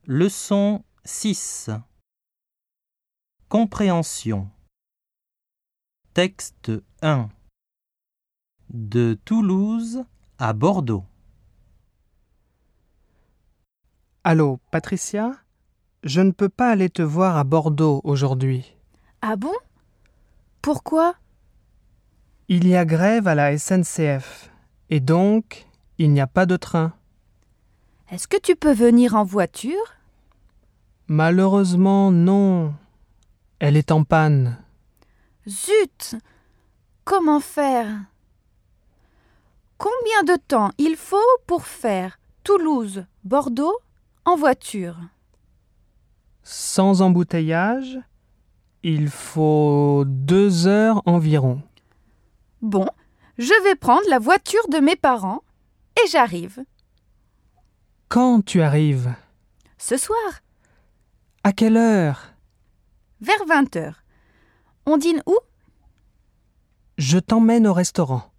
Leçon 6. Compréhension. Texte 1. De Toulouse à Bordeaux. Allô, Patricia? Je ne peux pas aller te voir à Bordeaux aujourd'hui. Ah bon? Pourquoi? Il y a grève à la SNCF et donc il n'y a pas de train. Est-ce que tu peux venir en voiture? Malheureusement, non. Elle est en panne. Zut! Comment faire? Combien de temps il faut pour faire Toulouse-Bordeaux en voiture? Sans embouteillage, il faut 2 heures environ. Bon, je vais prendre la voiture de mes parents et j'arrive. Quand tu arrives? Ce soir, À quelle heure? vers 20h. On dîne où? Je t'emmène au restaurant.